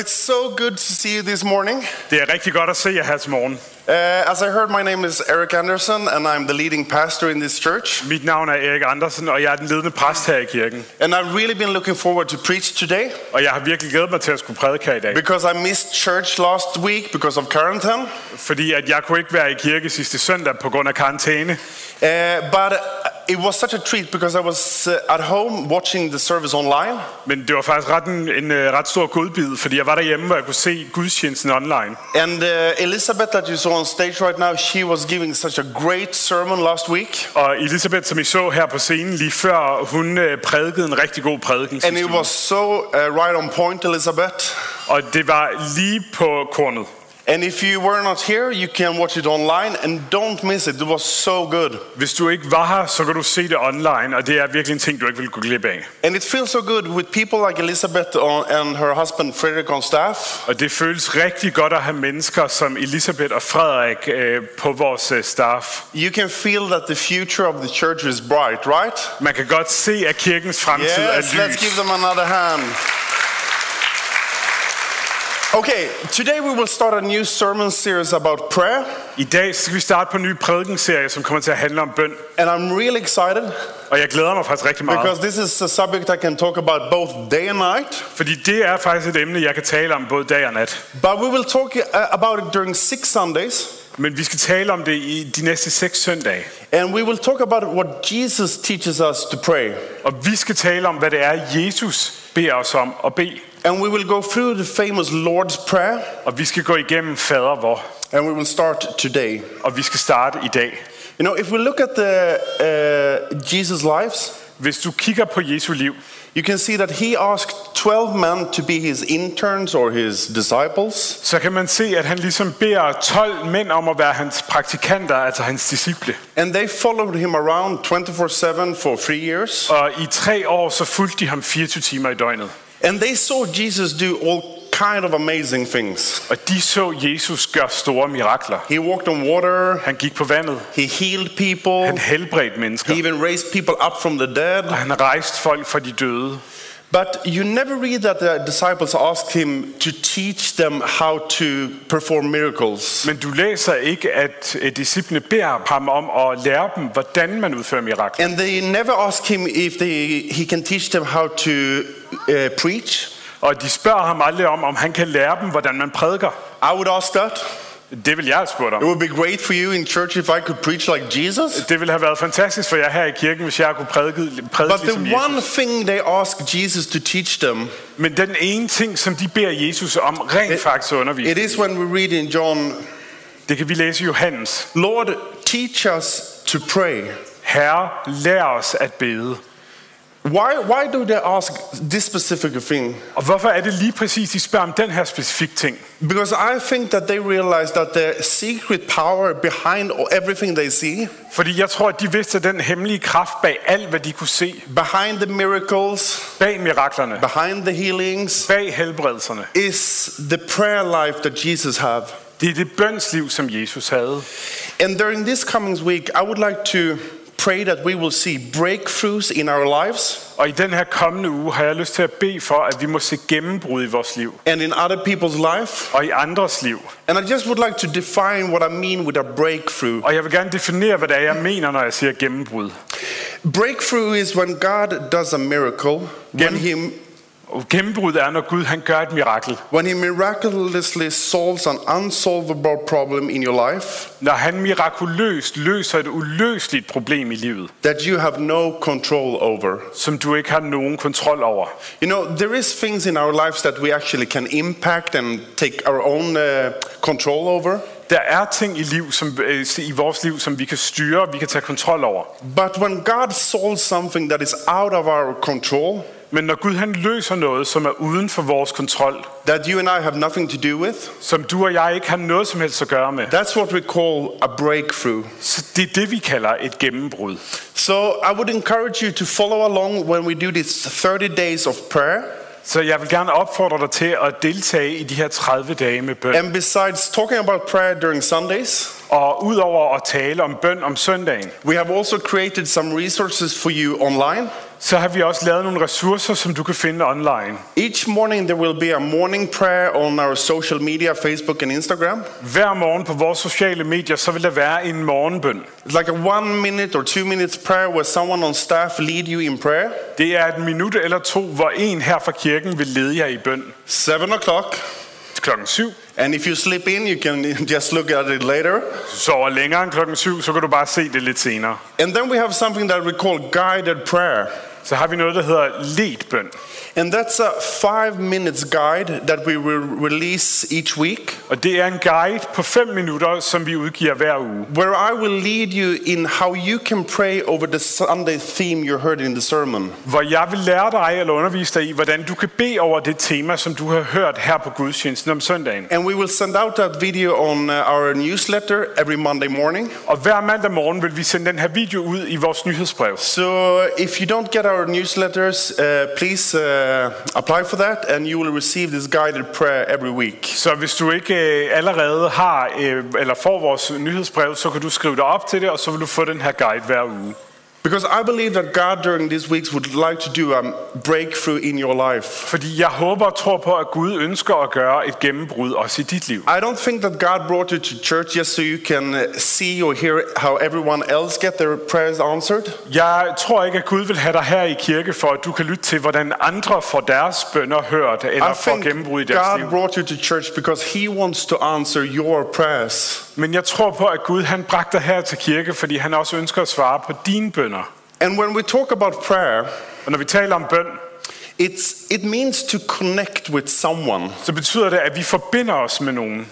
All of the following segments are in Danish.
It's so good to see you this morning. Det er rigtig godt at se jer her til morgen. As I heard, my name is Eric Anderson, and I'm the leading pastor in this church. Mit navn er Erik Andersen, og jeg er den ledende præst her i kirken. And I've really been looking forward to preach today. Og jeg har virkelig glædet mig til at skulle prædike her i dag. Because I missed church last week because of quarantine. Fordi at jeg kunne ikke være i kirke sidste søndag på grund af karantæne. But it was such a treat because I was at home watching the service online. Men det var faktisk en ret stor godbid, fordi jeg var derhjemme, hvor jeg kunne se gudstjenesten online. And Elizabeth, that you saw on stage right now, she was giving such a great sermon last week. Og Elisabeth, som I så her på scenen lige før, hun prædikede en rigtig god prædiken. And it was so right on point, Elizabeth. Og det var lige på kornet. And if you were not here, you can watch it online and don't miss it. It was so good. Hvis du ikke var her, så kan du se det online, og det er virkelig en ting, du ikke vil gå glip af. And it feels so good with people like Elizabeth and her husband Frederick on staff. Og det føles rigtig godt at have mennesker som Elisabeth og Frederik på vores staff. You can feel that the future of the church is bright, right? Man kan godt se, at kirkens fremtid er lys. Let's give them another hand. Okay, today we will start a new sermon series about prayer. I dag skal vi starte på en ny prædikenserie, som kommer til at handle om bøn. And I'm really excited. Og jeg glæder mig faktisk rigtig meget. Because this is a subject I can talk about both day and night. Fordi det er faktisk et emne, jeg kan tale om både dag og nat. But we will talk about it during 6 Sundays. Men vi skal tale om det i de næste 6 søndage. And we will talk about what Jesus teaches us to pray. Og vi skal tale om, hvad det er, Jesus beder os om at bede. And we will go through the famous Lord's Prayer. Og vi skal gå igennem fader vor. And we will start today. Og vi skal starte i dag. You know, if we look at the Jesus' lives, hvis du kigger på Jesu liv, you can see that he asked 12 men to be his interns or his disciples. Så kan man se, at han ligesom beder 12 mænd om at være hans praktikanter, altså hans disciple. And they followed him around 24/7 for 3 years. Og i 3 år så fulgte de ham 24 timer i døgnet. And they saw Jesus do all kind of amazing things. Og de så Jesus gøre store mirakler. He walked on water. Han gik på vandet. He healed people. Han helbredte mennesker. He even raised people up from the dead. Og han rejste folk fra de døde. But you never read that the disciples asked him to teach them how to perform miracles. Men du læser ikke, at disciplene beder ham om at lære dem, hvordan man udfører mirakler. And they never ask him if he can teach them how to preach. Og de spørger ham aldrig om han kan lære dem, hvordan man prædiker. I would ask that. Det vil jeg have spurgt om. It would be great for you in church if I could preach like Jesus. Det ville have været fantastisk for jer her i kirken, hvis jeg kunne prædike But ligesom the one Jesus. thing they ask Jesus to teach them, Men den ene ting, som de beder Jesus om rent faktisk undervise. it is when we read in John, det kan vi læse i Johannes. Lord, teach us to pray. Herre, lær os at bede. Why do they ask this specific thing? Og hvorfor er det lige præcis, de spørger om den her specifikke ting? Because I think that they realize that the secret power behind everything they see, Fordi jeg tror, at de vidste, at den hemmelige kraft bag alt, hvad de kunne se, behind the miracles, bag miraklerne, behind the healings, bag helbredelserne, is the prayer life that Jesus have. det er det bønsliv, som Jesus havde. And during this coming week, I would like to pray that we will see breakthroughs in our lives. Og i den her kommende uge har jeg lyst til at bede for, at vi må se gennembrud i vores liv. And in other people's life. Og i andres liv. And I just would like to define what I mean with a breakthrough. Og jeg vil gerne definere, hvad det er, jeg mener, når jeg siger gennembrud. Breakthrough is when God does a miracle. Gennembrud er, når Gud han gør et mirakel. When he miraculously solves an unsolvable problem in your life. Når han mirakuløst løser et uløseligt problem i livet. That you have no control over. Som du ikke har nogen kontrol over. You know, there is things in our lives that we actually can impact and take our own control over. Der er ting i vores liv, som vi kan styre, vi kan tage kontrol over. But when God solves something that is out of our control, men når Gud han løser noget, som er uden for vores kontrol, that you and I have nothing to do with, som du og jeg ikke har noget som helst at gøre med, that's what we call a breakthrough. Så det er det, vi kalder et gennembrud. So I would encourage you to follow along when we do these 30 days of prayer. Så jeg vil gerne opfordre dig til at deltage i de her 30 dage med bøn. And besides talking about prayer during Sundays, og udover at tale om bøn om søndagen, we have also created some resources for you online. så har vi også lavet nogle ressourcer, som du kan finde online. Each morning there will be a morning prayer on our social media, Facebook and Instagram. Hver morgen på vores sociale medier, så vil der være en morgenbøn. It's like a 1 minute or 2 minutes prayer where someone on staff lead you in prayer. Det er 1 minut eller 2, hvor en her fra kirken vil lede jer i bøn. 7 o'clock. Klokken 7. And if you slip in, you can just look at it later. Hvis du sover længere end klokken 7, så kan du bare se det lidt senere. And then we have something that we call guided prayer. Så har vi noget, der hedder ledt bøn. And that's a 5 minutes guide that we will release each week. Og det er en guide på 5 minutter, som vi udgiver hver uge. Where I will lead you in how you can pray over the Sunday theme you heard in the sermon. Hvor jeg vil lære dig eller undervise dig i, hvordan du kan bede over det tema, som du har hørt her på gudstjenesten om søndagen. And we will send out that video on our newsletter every Monday morning. Og hver mandag morgen vil vi sende den her video ud i vores nyhedsbrev. So if you don't get our newsletters, please apply for that, and you will receive this guided prayer every week. Så hvis du ikke allerede har eller får vores nyhedsbrev, så kan du skrive dig op til det, og så vil du få den her guide hver uge. Because I believe that God during these weeks would like to do a breakthrough in your life. Fordi jeg håber og tror på, at Gud ønsker at gøre et gennembrud også i dit liv. I don't think that God brought you to church just so you can see or hear how everyone else get their prayers answered. Jeg tror ikke, at Gud vil have dig her i kirke, for at du kan lytte til, hvordan andre får deres bønner hørt, eller får gennembrud i deres liv. God brought you to church because He wants to answer your prayers. Men jeg tror på, at Gud han bragte dig her til kirke, fordi han også ønsker at svare på dine bønner. And when we talk about prayer, og når vi taler om bøn, it means to connect with someone. Så betyder det, at vi forbinder os med nogen.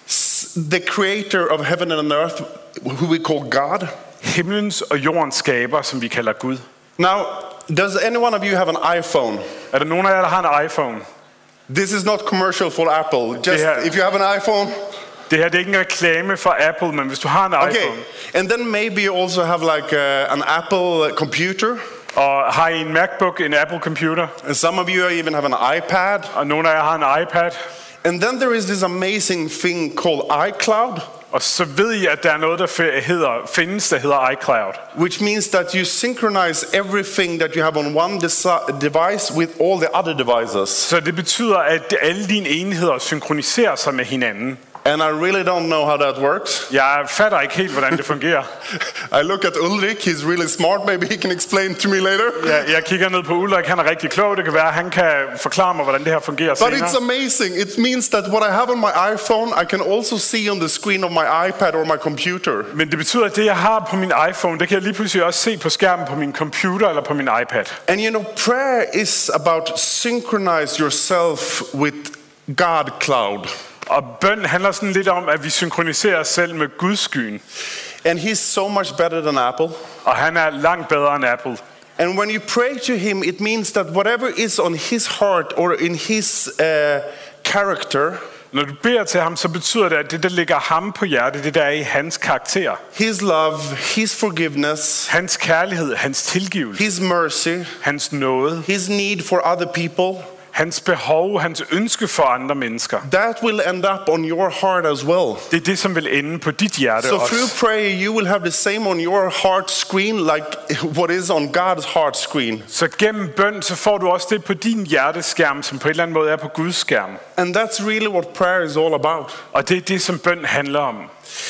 The creator of heaven and earth, who we call God. Himlens og jordens skaber, som vi kalder Gud. Now, does any one of you have an iPhone? Er der nogen af jer, der har en iPhone? This is not commercial for Apple. Just if you have an iPhone. Det her det er ikke en reklame for Apple, men hvis du har en iPhone. And then maybe you also have like an Apple computer. Og har I en MacBook, en Apple computer? And some of you even have an iPad. Og nogle af jer har en iPad. And then there is this amazing thing called iCloud. Og så ved I, at der er noget, der findes, der hedder iCloud. Which means that you synchronize everything that you have on one device with all the other devices. Så det betyder, at alle dine enheder synkroniserer sig med hinanden. And I really don't know how that works. Jeg fatter ikke helt, hvordan det fungerer. I look at Ulrik, he's really smart, maybe he can explain to me later. Jeg kigger ned på Ulrik, han er rigtig klog, det kan være, han kan forklare mig, hvordan det her fungerer senere. But it's amazing, it means that what I have on my iPhone, I can also see on the screen of my iPad or my computer. Men det betyder, at det jeg har på min iPhone, det kan jeg lige pludselig også se på skærmen på min computer eller på min iPad. And you know, prayer is about synchronize yourself with God cloud. Og bøn handler sådan lidt om, at vi synkroniserer os selv med Guds skyen. And he's so much better than Apple. Og han er langt bedre end Apple. And when you pray to him, it means that whatever is on his heart or in his character, når du beder til ham, så betyder det, at det, der ligger ham på hjertet, det der er i hans karakter. His love, his forgiveness, hans kærlighed, hans tilgivelse, his mercy, hans nåde, his need for other people, hans behov, hans ønske for andre mennesker. That will end up on your heart as well. Det er det, som vil ende på dit hjerte so også. Through prayer, you will have the same on your heart screen like what is on God's heart screen. Så gennem bøn, så får du også det på din hjerteskærm, som på en eller anden måde er på Guds skærm. And that's really what prayer is all about. Og det er det, som bøn handler om.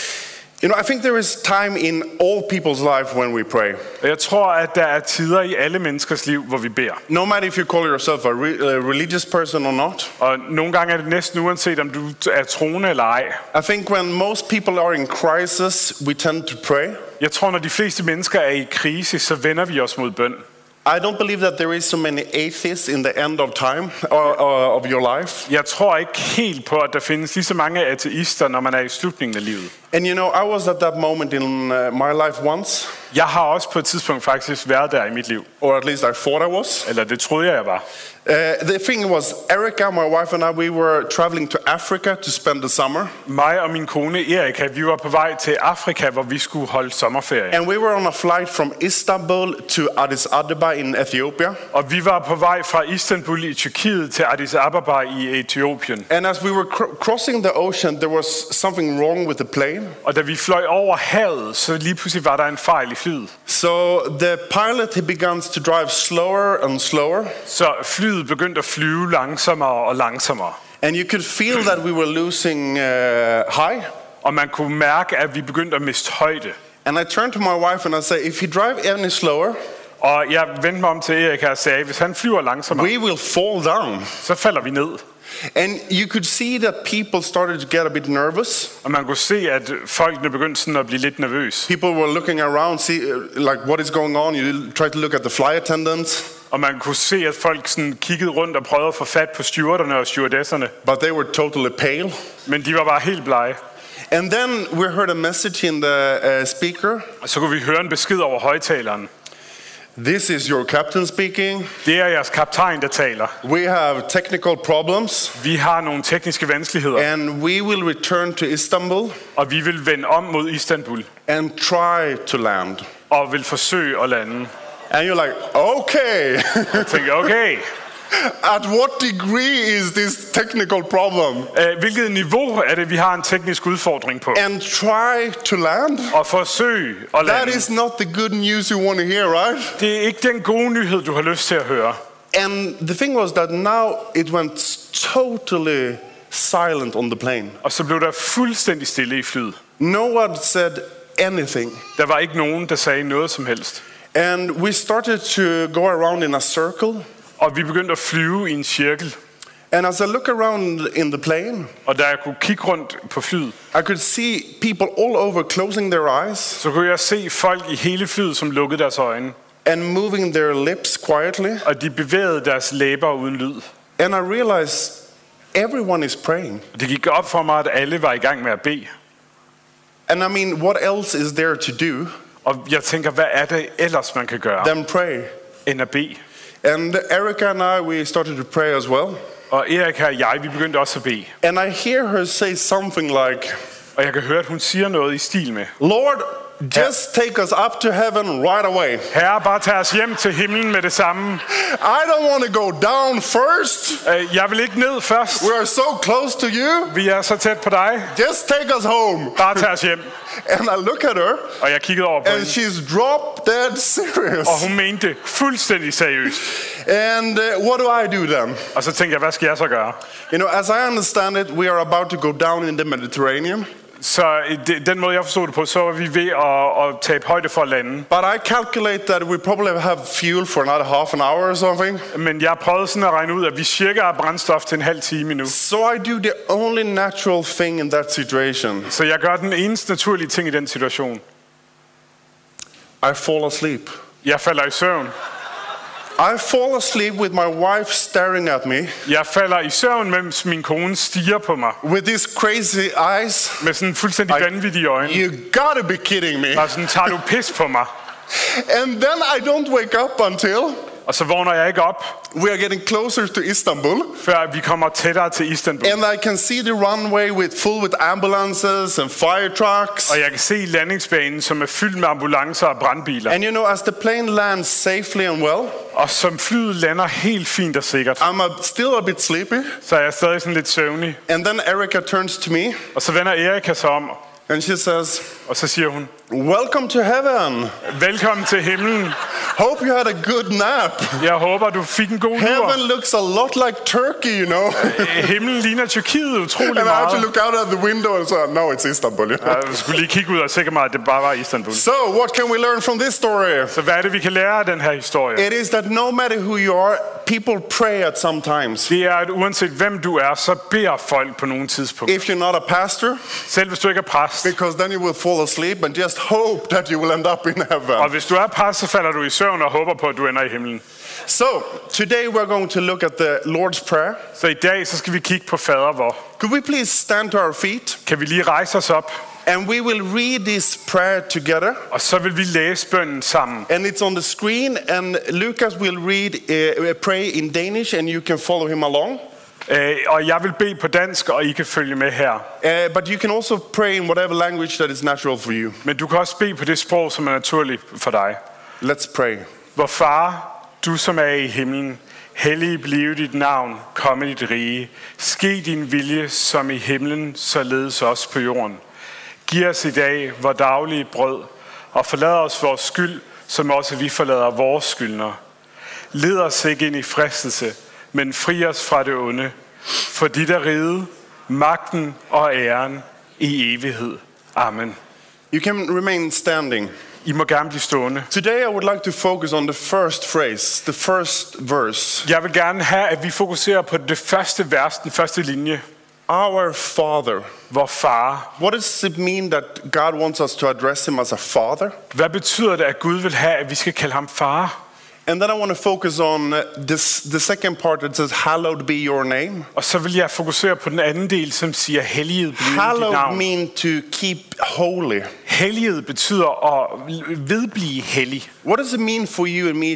You know, I think there is time in all people's life when we pray. Jeg tror, at der er tider i alle menneskers liv, hvor vi beder. No matter if you call yourself a religious person or not. Og nogle gange er det næsten uanset, om du er troende eller ej. I think when most people are in crisis, we tend to pray. Jeg tror, når de fleste mennesker er i krise, så vender vi os mod bøn. I don't believe that there is so many atheists in the end of time of your life. Jeg tror ikke helt på, at der findes lige så mange ateister, når man er i slutningen af livet. And you know, I was at that moment in my life once. Jeg har også på et tidspunkt faktisk været der i mit liv. Or at least I thought I was. Eller det troede jeg var. The thing was, Erica, my wife and I, we were traveling to Africa to spend the summer. Mig og min kone Erika, vi var på vej til Afrika, hvor vi skulle holde sommerferie. And we were on a flight from Istanbul to Addis Ababa in Ethiopia. Og vi var på vej fra Istanbul i Tyrkiet til Addis Ababa i Etiopien. And as we were crossing the ocean, there was something wrong with the plane. plane. Og da vi fløj over havet, så lige pludselig var der en fejl i flyet. So the pilot, he began to drive slower and slower. Så flyet begyndte at flyve langsommere og langsommere. And you could feel that we were losing high. Og man kunne mærke, at vi begyndte at miste højde. And I turned to my wife and I said, if you drive any slower, Og jeg vendte mig om til Erik og sagde, hvis han flyver langsommere, we will fall down. så falder vi ned. And you could see that people started to get a bit nervous. Og man kunne se, at folkene begyndte sådan at blive lidt nervøse. People were looking around, see like what is going on. You try to look at the flight attendants. Og man kunne se, at folk sådan kiggede rundt og prøvede at få fat på stewarderne og stewardesserne. But they were totally pale. Men de var bare helt blege. And then we heard a message in the speaker. Og så kunne vi høre en besked over højtaleren. This is your captain speaking. Det er jeres kaptajn, der taler. We have technical problems. Vi har nogle tekniske vanskeligheder. And we will return to Istanbul Og vi vil vende om mod Istanbul. and try to land. Og vil forsøge at lande. And you're like, okay. Jeg tænkte, okay. At what degree is this technical problem? Hvilket niveau er det, vi har en teknisk udfordring på? And try to land? Og forsøge at That lande. is not the good news you want to hear, right? Det er ikke den gode nyhed, du har lyst til at høre. And the thing was that now it went totally silent on the plane. Og så blev der fuldstændig stille i flyet. No one said anything. Der var ikke nogen, der sagde noget som helst. And we started to go around in a circle. Og vi begyndte at flyve i en cirkel. And as I look around in the plane, Og da jeg kunne kigge rundt på flyet, I could see people all over closing their eyes så kunne jeg se folk i hele flyet, som lukkede deres øjne. and moving their lips quietly. Og de bevægede deres læber uden lyd. And I realized everyone is praying. Og det gik op for mig, at alle var i gang med at bede. And I mean, what else is there to do Og jeg tænker, hvad er det ellers, man kan gøre, than pray? end at bede? And Erica and I, we started to pray as well. Og Erik og jeg, vi begyndte også at bede. And I hear her say something like, Og jeg kan høre, at hun siger noget i stil med: Lord, just take us up to heaven right away. Herre, bare tag os hjem til himlen med det samme. I don't want to go down first. Jeg vil ikke ned først. We are so close to you. Vi er så tæt på dig. Just take us home. Bare tag os hjem. And I look at her, Og jeg kiggede over på and hende. she's drop dead serious. Og hun mente det fuldstændig seriøst. And what do I do then? Og så tænkte jeg, hvad skal jeg så gøre? You know, as I understand it, we are about to go down in the Mediterranean. Så den måde, jeg forstod det på, så var vi ved at tabe højde for at lande. But I calculate that we probably have fuel for another half an hour or something. Men jeg prøvede sådan at regne ud, at vi cirka har brændstof til en halv time nu. So I do the only natural thing in that situation. Så jeg gør den eneste naturlige ting i den situation. I fall asleep. Jeg falder i søvn. I fall asleep with my wife staring at me Jeg falder i søvn, mens min kone stiger på mig. with these crazy eyes. Med sådan fuldstændig vanvittige øjne. You gotta be kidding me. Og sådan, tager du pis på mig? And then I don't wake up until Og så vågner jeg ikke op, we are getting closer to Istanbul. før vi kommer tættere til Istanbul. And I can see the runway full with ambulances and fire trucks. Og jeg kan se landingsbanen, som er fyldt med ambulancer og brandbiler. And you know, as the plane lands safely and well, Og som flyet lander helt fint og sikkert, I'm still a bit sleepy. så er jeg stadig sådan lidt søvnig. And then Erica turns to me Og så vender Erika sig om, and she says, og så siger hun: welcome to heaven. Velkommen til himlen. Hope you had a good nap. Jeg håber, du fik en god lur. Heaven looks a lot like Turkey, you know. Himlen ligner Tyrkiet utrolig And I had to meget. look out at the window and say, no, it's Istanbul. You know? Jeg skulle lige kigge ud og sikre mig, at det bare var Istanbul. So, what can we learn from this story? Så hvad er det, vi kan lære af den her historie? It is that no matter who you are, people pray at some times. Det er, at uanset hvem du er, så beder folk på nogle tidspunkt. If you're not a pastor, Selv hvis du ikke er præst. because then you will fall asleep and just hope that you will end up in Og heaven. hvis du er præst, så falder du i søvn og håber på, at du ender i himlen. So, today we're going to look at the Lord's Prayer. Så i dag, så skal vi kigge på fader vor. Could we please stand to our feet? Kan vi lige rejse os op? And we will read this prayer together. Og så vil vi læse bønnen sammen. And it's on the screen, and Lucas will pray in Danish, and you can follow him along. Og jeg vil bede på dansk, og I kan følge med her. But you can also pray in whatever language that is natural for you. Men du kan også bede på det sprog, som er naturligt for dig. Let's pray. Vor far, du som er i himlen, hellig blive dit navn, komme dit rige. Ske din vilje som i himlen, således også på jorden. Giv os i dag vor daglige brød, og forlad os vores skyld, som også vi forlader vores skyldnere. Led os ikke ind i fristelse, men fri os fra det onde. For dit er riget, magten og æren i evighed. Amen. You can remain standing. I må gerne blive stående. Today I would like to focus on the first phrase, the first verse. Jeg vil gerne have, at vi fokuserer på det første vers, den første linje. Our Father. Vor far. What does it mean that God wants us to address him as a father? Hvad betyder det, at Gud vil have, at vi skal kalde ham far? And then I want to focus on the second part that says, hallowed be your name. Og så vil jeg fokusere på den anden del, som siger, helliget blive dit Hallowed navn. mean to keep holy. Helliget betyder at vedblive hellig. What does it mean for you and me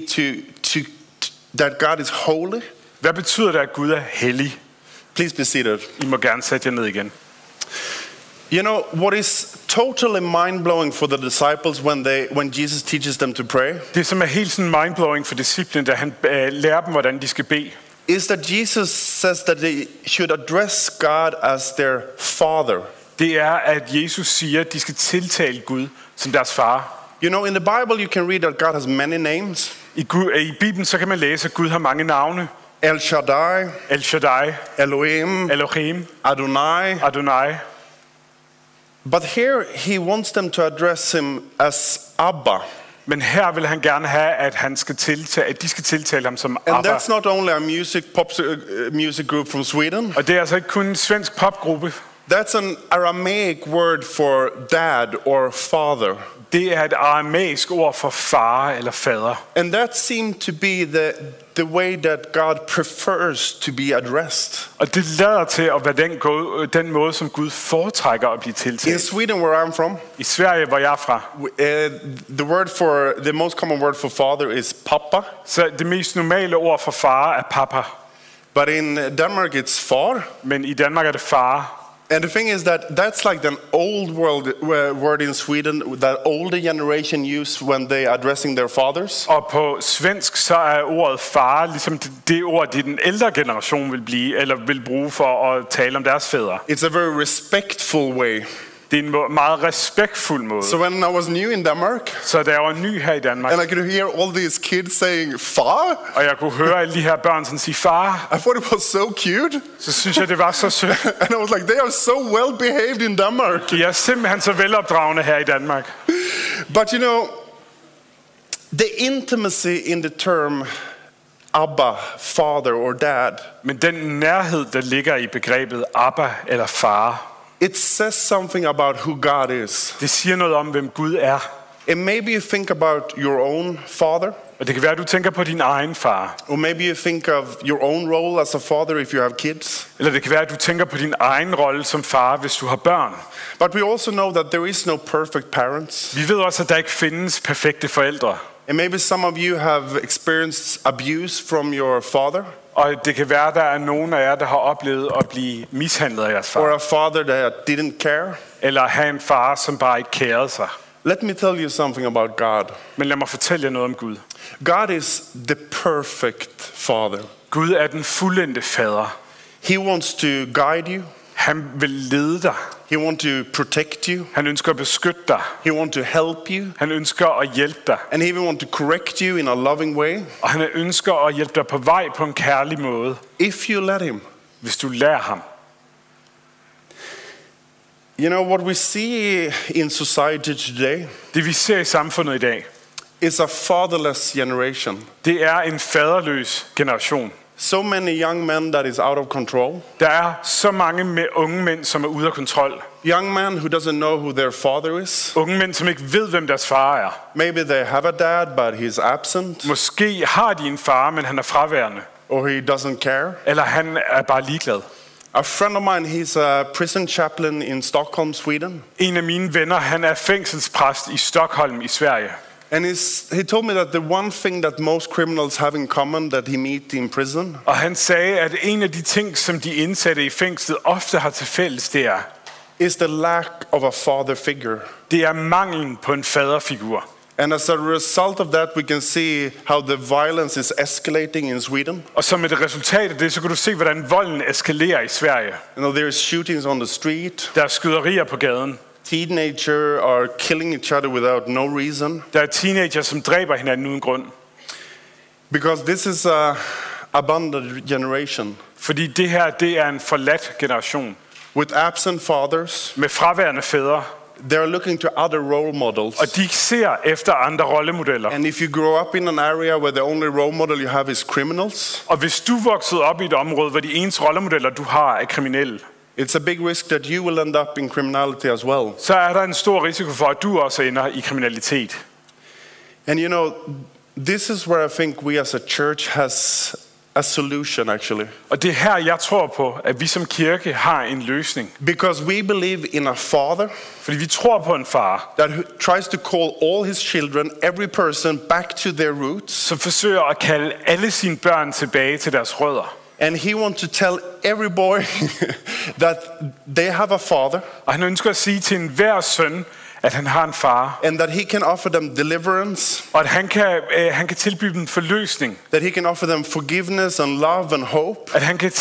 that God is holy? Hvad betyder det, at Gud er hellig? Please be seated. I må gerne sætte jer ned igen. You know, what is totally mind-blowing for the disciples when Jesus teaches them to pray Det, som er helt sådan mindblowing for disciplen, da han lærer dem, hvordan de skal bede, is that Jesus says that they should address God as their Father. det er, at Jesus siger, at de skal tiltale Gud som deres far. You know, in the Bible you can read that God has many names. I Bibelen så kan man læse, at Gud har mange navne. El Shaddai, El Shaddai, Elohim, Elohim, Adonai. Adonai. But here he wants them to address him as Abba. Men her vil han gerne have, at de skal tiltale ham som And Abba. that's not only a music group from Sweden. Og det er altså ikke kun en svensk popgruppe. That's an Aramaic word for dad or father. Det er et aramæisk ord for far eller fader. And that seemed to be the way that God prefers to be addressed. Og det lader til at være den måde, som Gud foretrækker at blive In tiltalt. Sweden, where I'm from, I Sverige, hvor jeg er fra, the most common word for father is papa. så det mest normale ord for far er papa. But in Denmark, it's far. Men i Danmark er det far. And the thing is that that's like the old word in Sweden that older generation use when they addressing their fathers. Og på svensk så er ordet far ligesom det ord, det den ældre generation vil bruge for at tale om deres fædre. It's a very respectful way. Det er en meget respektful måde. So when I was new in Denmark, Så da jeg var ny her i Danmark, and I could hear all these kids saying "far," og jeg kunne høre alle de her børn sådan sige far, I thought it was so cute. så synes jeg, det var så sødt. And I was like, they are so well behaved in Denmark. De er simpelthen så velopdragende her i Danmark. But you know, the intimacy in the term Abba, father or dad, Men den nærhed, der ligger i begrebet Abba eller far, it says something about who God is. det siger noget om, hvem Gud er. And maybe you think about your own father, Og det kan være, at du tænker på din egen far. or maybe you think of your own role as a father if you have kids. Eller det kan være, at du tænker på din egen rolle som far, hvis du har børn. But we also know that there is no perfect parents. Vi ved også, at der ikke findes perfekte forældre. And maybe some of you have experienced abuse from your father, Og det kan være, at der er nogen af jer, der har oplevet at blive mishandlet af jeres or far. a father that didn't care. Eller have en far, som bare ikke kærede sig. Let me tell you something about God. Men lad mig fortælle jer noget om Gud. God is the perfect father. Gud er den fuldendte fader. He wants to guide you. Han vil lede dig. He wants to protect you. Han ønsker at beskytte dig. He wants to help you. Han ønsker at hjælpe dig. And he even wants to correct you in a loving way. Og han ønsker at hjælpe dig på vej på en kærlig måde, If you let him. hvis du lader ham. You know, what we see in society today Det vi ser i samfundet i dag, is a fatherless generation. det er en faderløs generation. So many young men that is out of control. Der er så mange unge mænd, som er ude af kontrol. Young men who doesn't know who their father is. Unge mænd, som ikke ved, hvem deres far er. Maybe they have a dad, but he's absent, Måske har de en far, men han er fraværende. or he doesn't care. Eller han er bare ligeglad. A friend of mine, he's a prison chaplain in Stockholm, Sweden. En af mine venner, han er fængselspræst i Stockholm i Sverige. And he told me that the one thing that most criminals have in common that he meet in prison Og han sagde, at en af de ting, som de indsatte i fængslet ofte har til fælles, det er is the lack of a father figure. Det er manglen på en faderfigur. And as a result of that, we can see how the violence is escalating in Sweden. Og som et resultat af det, så kan du se, hvordan volden eskalerer i Sverige. You know, there is shootings on the street. Der er skyderier på gaden. Teenagers are killing each other without no reason. Der er teenager, som dræber hinanden uden grund. Because this is a abandoned generation. Fordi det her, det er en forladt generation. With absent fathers, Med fraværende fædre. they are looking to other role models. Og de ser efter andre rollemodeller. And if you grow up in an area where the only role model you have is criminals, Og hvis du voksede op i et område, hvor de eneste rollemodeller, du har, er kriminelle, it's a big risk that you will end up in criminality as well. så er der en stor risiko for, at du også ender i kriminalitet. And you know, this is where I think we as a church has a solution actually. Og det er her, jeg tror på, at vi som kirke har en løsning. Because we believe in a father Fordi vi tror på en far, that tries to call all his children, every person, back to their roots. som forsøger at kalde alle sine børn tilbage til deres rødder. And he wants to tell every boy that they have a father Og han ønsker at sige til enhver søn, at han har en far, and that he can offer them deliverance, og at han kan tilbyde dem forløsning, that he can offer them forgiveness and love and hope. at han kan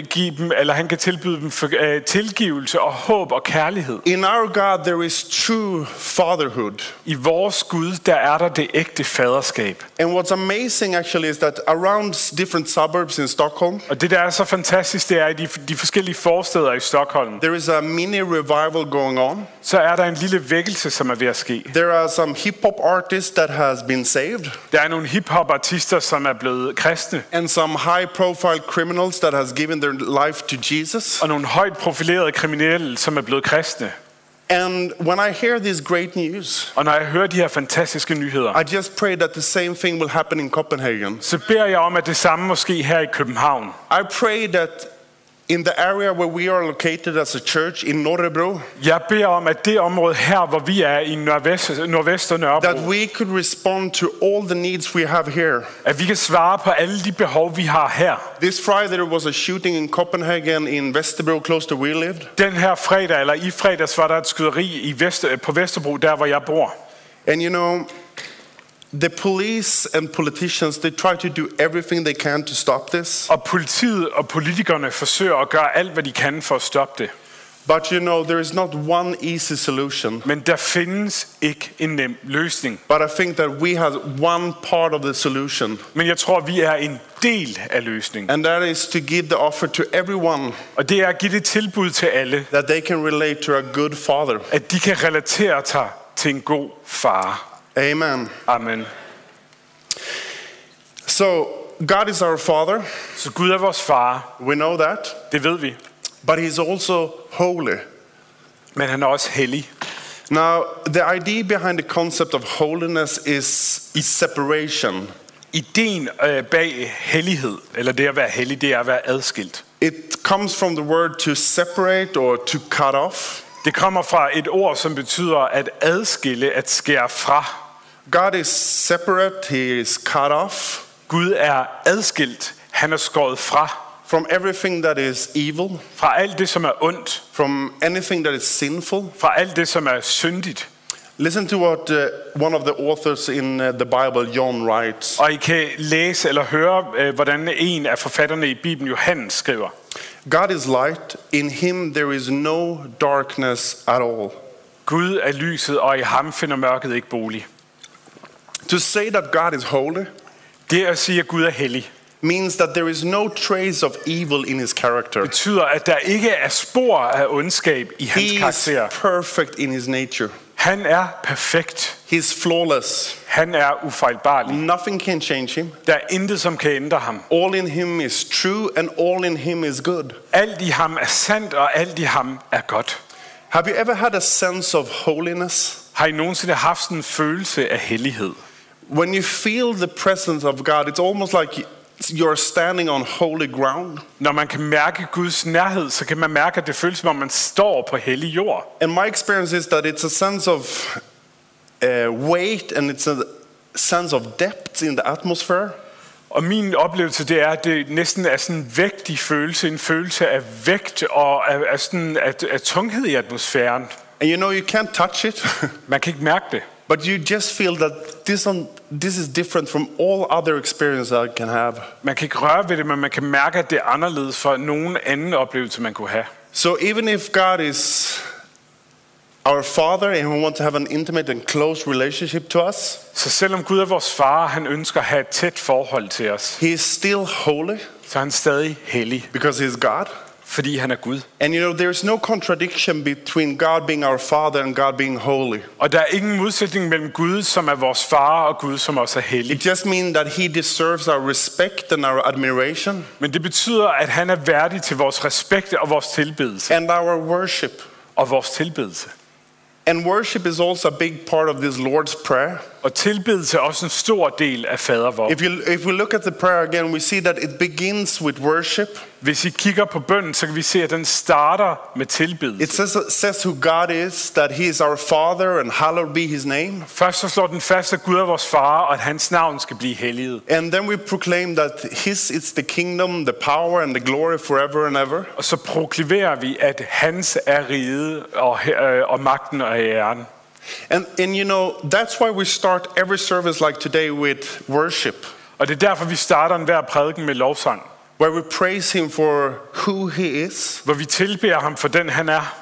tilbyde dem tilgivelse og håb og kærlighed. In our God there is true fatherhood. I vores Gud, der er der det ægte faderskab. And what's amazing actually is that around different suburbs in Stockholm, Og det, der er så fantastisk, det er, at i de forskellige forsteder i Stockholm, there is a mini revival going on. så er der en lille vækkelse, som er ved at ske. There are some hip-hop artists that has been saved, Der er nogle hip-hop-artister, som er blevet kristne, and some high-profile criminals that has given their life to Jesus. og nogle højt profilerede kriminelle, som er blevet kristne. And when I hear this great news, Og når jeg hører de her fantastiske nyheder, I just pray that the same thing will happen in Copenhagen. så beder jeg om, at det samme måske her i København. I pray that in the area where we are located as a church in Norrebro, Jeg beder om, at det område her, hvor vi er i nordvest og Nørrebro, that we could respond to all the needs we have here. at vi kan svare på alle de behov, vi har her. This Friday there was a shooting in Copenhagen in Vesterbro, close to where we lived. Den her fredag, eller i fredags, var der et skyderi på Vesterbro, der hvor jeg bor. And you know, the police and politicians, they try to do everything they can to stop this. Og politiet og politikerne forsøger at gøre alt, hvad de kan for at stoppe det. But you know, there is not one easy solution. Men der findes ikke en nem løsning. But I think that we have one part of the solution. Men jeg tror, vi er en del af løsningen. And that is to give the offer to everyone Og det er at give det tilbud til alle, that they can relate to a good father. at de kan relatere sig til en god far. Amen. Amen. So, God is our father. Så Gud er vores far, We know that. det ved vi. But he's also holy. Men han er også hellig. Now, the idea behind the concept of holiness is separation. Ideen bag hellighed, eller det at være hellig, det er at være adskilt. It comes from the word to separate or to cut off. Det kommer fra et ord, som betyder at adskille, at skære fra. God is separate, he is cut off Gud er adskilt, han er skåret fra. from everything that is evil, Fra alt det, som er ondt. from anything that is sinful. Fra alt det, som er syndigt. Listen to what one of the authors in the Bible, John, writes. Og I kan læse eller høre, hvordan en af forfatterne i Bibelen, Johannes, skriver. God is light, in him there is no darkness at all. Gud er lyset, og i ham finder mørket ikke bolig. To say that God is holy Det at sige, at Gud er hellig, means that there is no trace of evil in his character. betyder, at der ikke er spor af ondskab i hans He is karakter. perfect in his nature. Han er perfekt. He's flawless. Han er ufejlbarlig. Nothing can change him. Der er intet, som kan ændre ham. All in him is true and all in him is good. Alt i ham er sandt, og alt i ham er godt. Have you ever had a sense of holiness? Har I nogensinde haft sådan en følelse af hellighed? When you feel the presence of God, it's almost like you're standing on holy ground. Når man kan mærke Guds nærhed, så kan man mærke, at det føles som om man står på hellig jord. And my experience is that it's a sense of weight and it's a sense of depth in the atmosphere. Og min oplevelse, det er, at det næsten er sådan en vægtig følelse, en følelse af vægt og af sådan af tunghed i atmosfæren. And you know, you can't touch it, Man kan ikke mærke det, but you just feel that this is different from all other experiences I can have. man kan ikke røre ved det, men man kan mærke, at det er anderledes fra nogen anden oplevelse, man kunne have. So even if God is our Father and He wants to have an intimate and close relationship to us, Så selvom Gud er vores far, han ønsker at have et tæt forhold til os, He is still holy så er han stadig hellig, because He is God. fordi han er Gud. And you know, there's no contradiction between God being our Father and God being holy. Og der er ingen modsætning mellem Gud, som er vores far, og Gud, som også er hellig. It just means that He deserves our respect and our admiration Men det betyder, at han er værdig til vores respekt og vores tilbedelse. and our worship. Og vores tilbedelse. And worship is also a big part of this Lord's Prayer. Og tilbedelse er også en stor del af fadervor. If we look at the prayer again, we see that it begins with worship. Hvis I kigger på bønnen, så kan vi se, at den starter med It tilbedelse. says who God is, that He is our Father and hallowed be His name. Først så slår den fast, at Gud er vores far, og at hans navn skal blive helliget. And then we proclaim that His is the kingdom, the power and the glory forever and ever. Og så proklamerer vi, at hans er riget og magten og æren. And you know, that's why we start every service like today with worship, Og det er derfor, vi starter enhver prædiken med lovsang, where we praise Him for who He is. hvor vi tilbeder ham for den, han er.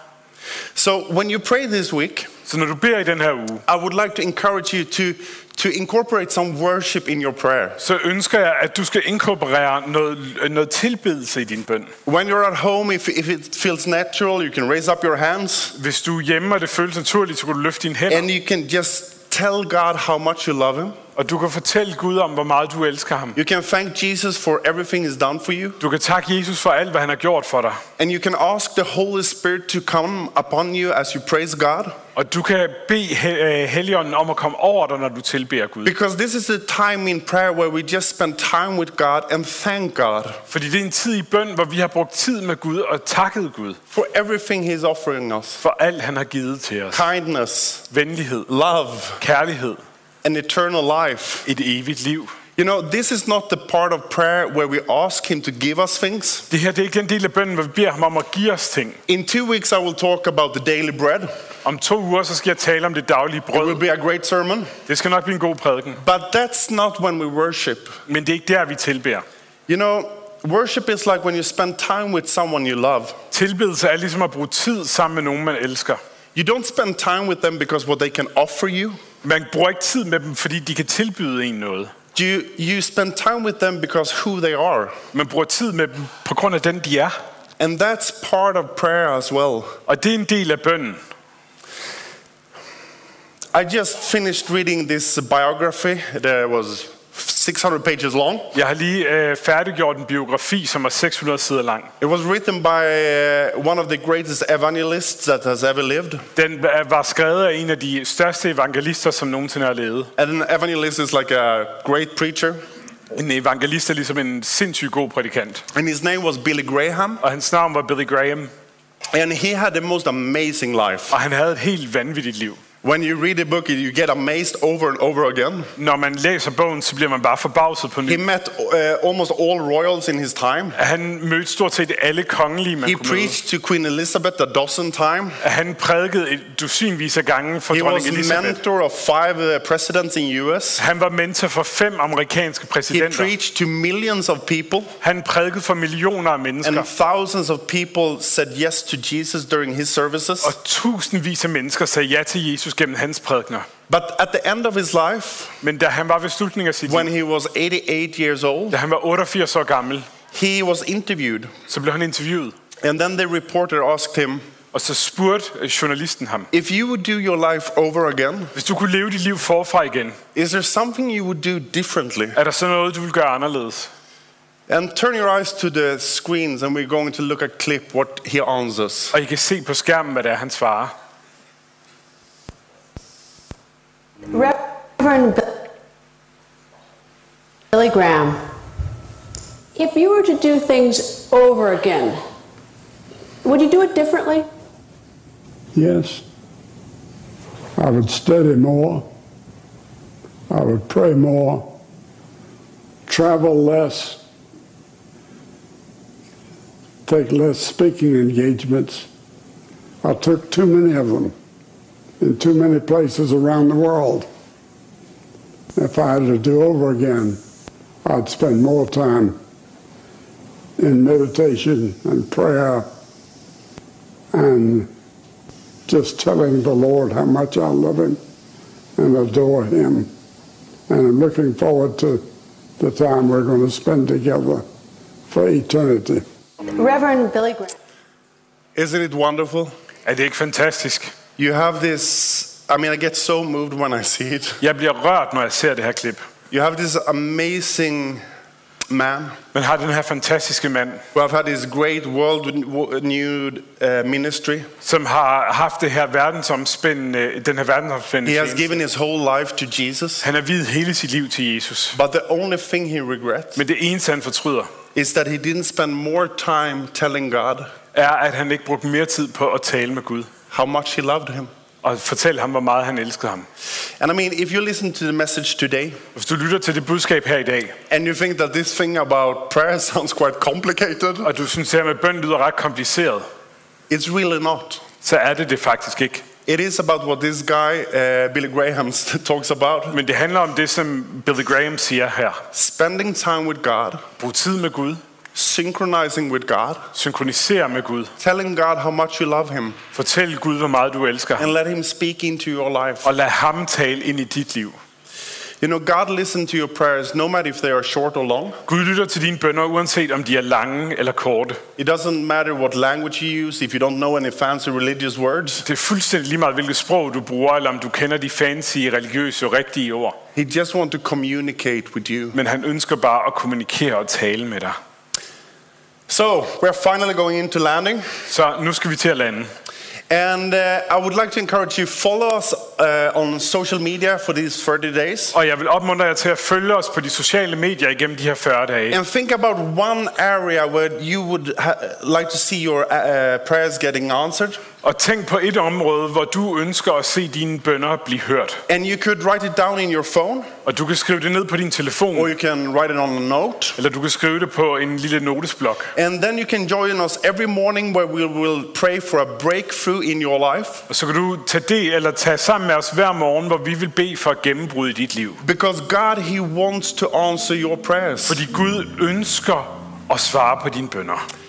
So when you pray this week, Så når du beder i den her uge, I would like to encourage you to incorporate some worship in your prayer. så ønsker jeg, at du skal inkorporere noget tilbedelse i din bøn. When you're at home, if it feels natural, you can raise up your hands Hvis du er hjemme, og det føles naturligt, så kan du løfte dine hænder. and you can just tell God how much you love Him. Og du kan fortælle Gud om, hvor meget du elsker ham. You can thank Jesus for everything He's done for you. Du kan takke Jesus for alt, hvad han har gjort for dig. And you can ask the Holy Spirit to come upon you as you praise God. Og du kan bede Helligånden om at komme over dig, når du tilbeder Gud. Because this is the time in prayer where we just spend time with God and thank God Fordi det er en tid i bøn, hvor vi har brugt tid med Gud og takket Gud for everything He's offering us. for alt, han har givet til os. Kindness, Venlighed, love, kærlighed, and eternal life. et evigt liv. You know, this is not the part of prayer where we ask Him to give us things. Det her det er ikke den del af bønnen, hvor vi beder ham om at give os ting. In 2 weeks, I will talk about the daily bread. Om 2 uger, så skal jeg tale om det daglige It will brød. be a great sermon. Det skal nok blive en god prædiken. But that's not when we worship. Men det er ikke der, vi tilbeder. You know, worship is like when you spend time with someone you love. Tilbedelse er ligesom at bruge tid sammen med nogen, man elsker. You don't spend time with them because what they can offer you. Man bruger ikke tid med dem, fordi de kan tilbyde en noget. You spend time with them because who they are. Man bruger tid med dem på grund af den, de er. And that's part of prayer as well. Og det er en del af bønnen. I just finished reading this biography that was 600 pages long. Jeg har lige færdiggjort en biografi, som er 600 sider lang. It was written by one of the greatest evangelists that has ever lived. Den var skrevet af en af de største evangelister, som nogensinde har levet. And an evangelist is like a great preacher. En evangelist er ligesom en sindssygt god prædikant. And his name was Billy Graham. Og hans navn var Billy Graham. And he had the most amazing life. Og han havde et helt vanvittigt liv. When you read the book, you get amazed over and over again. Når man læser bogen, så bliver man bare forbavset på He ny. met almost all royals in his time. Han mødte stort set alle kongelige, man He kunne møde. preached to Queen Elizabeth a dozen times. Han prædikede et dusinvis af gange for He dronning was Elizabeth. mentor of 5 presidents in US. Han var mentor for 5 amerikanske He præsidenter. preached to millions of people. Han prædikede for millioner af mennesker. And thousands of people said yes to Jesus during his services. Og tusindvis af mennesker sagde ja til Jesus gennem hans prædikener. But at the end of his life, Men da han var ved slutningen af sit when liv, he was 88 years old, da han var 88 år gammel, he was interviewed. så blev han interviewet. And then the reporter asked him, Og så spurgte journalisten ham, if you would do your life over again, hvis du kunne leve dit liv forfra igen, is there something you would do differently? er der så noget, du vil gøre anderledes? And turn your eyes to the screens and we're going to look at clip what he answers. Og I kan se på skærmen, hvad det er, han svarer. Reverend Billy Graham, if you were to do things over again, would you do it differently? Yes. I would study more. I would pray more. Travel less. Take less speaking engagements. I took too many of them in too many places around the world. If I had to do over again, I'd spend more time in meditation and prayer and just telling the Lord how much I love him and adore him. And I'm looking forward to the time we're going to spend together for eternity. Reverend Billy Graham. Isn't it wonderful? Er det ikke fantastisk? You have this, I mean, I get so moved when I see it. Jeg bliver rørt, når jeg ser det her klip. You have this amazing man Man har den her fantastiske mand, who have had this great world-renewed ministry. som har haft det her den her verdensomspændende He has tjeneste. given his whole life to Jesus. Han har viet hele sit liv til Jesus. But the only thing he regrets Men det eneste, han fortryder, is that he didn't spend more time telling God er, at han ikke brugte mere tid på at tale med Gud. how much he loved him. Og fortælle ham, hvor meget han elskede ham. And I mean, if you listen to the message today Hvis du lytter til det budskab her i dag, and you think that this thing about prayer sounds quite complicated, og du synes, at med bøn lyder ret kompliceret, it's really not. så er det faktisk ikke. It is about what this guy, Billy Graham, talks about. Men det handler om det, som Billy Graham siger her. Spending time with God, Brug tid med Gud. synchronizing with God, Synkronisere med Gud. telling God how much you love him, Fortæl Gud, hvor meget du elsker ham. and let him speak into your life. Og lad ham tale ind i dit liv. You know, God listens to your prayers no matter if they are short or long. Gud lytter til dine bønner, uanset om de er lange eller korte. It doesn't matter what language you use, if you don't know any fancy religious words. Det er fuldstændig lige meget, hvilket sprog du bruger, eller om du kender de fancy, religiøse og rigtige ord. He just wants to communicate with you. Men han ønsker bare at kommunikere og tale med dig. So, we're finally going into landing. Så nu skal vi til at lande. And I would like to encourage you, follow us on social media for these 30 days. Og jeg vil opmuntre jer til at følge os på de sociale medier igennem de her 40 dage. And think about one area where you would like to see your prayers getting answered. Og tænk på et område, hvor du ønsker at se dine bønner blive hørt. And you could write it down in your phone, Og du kan skrive det ned på din telefon, or you can write it on a note. eller du kan skrive det på en lille notesblok. And then you can join us every morning where we will pray for a breakthrough in your life. Og så kan du tage sammen med os hver morgen, hvor vi vil bede for gennembrud i dit liv. Because God, he wants to answer your prayers. Fordi Gud ønsker at svare på dine bønner.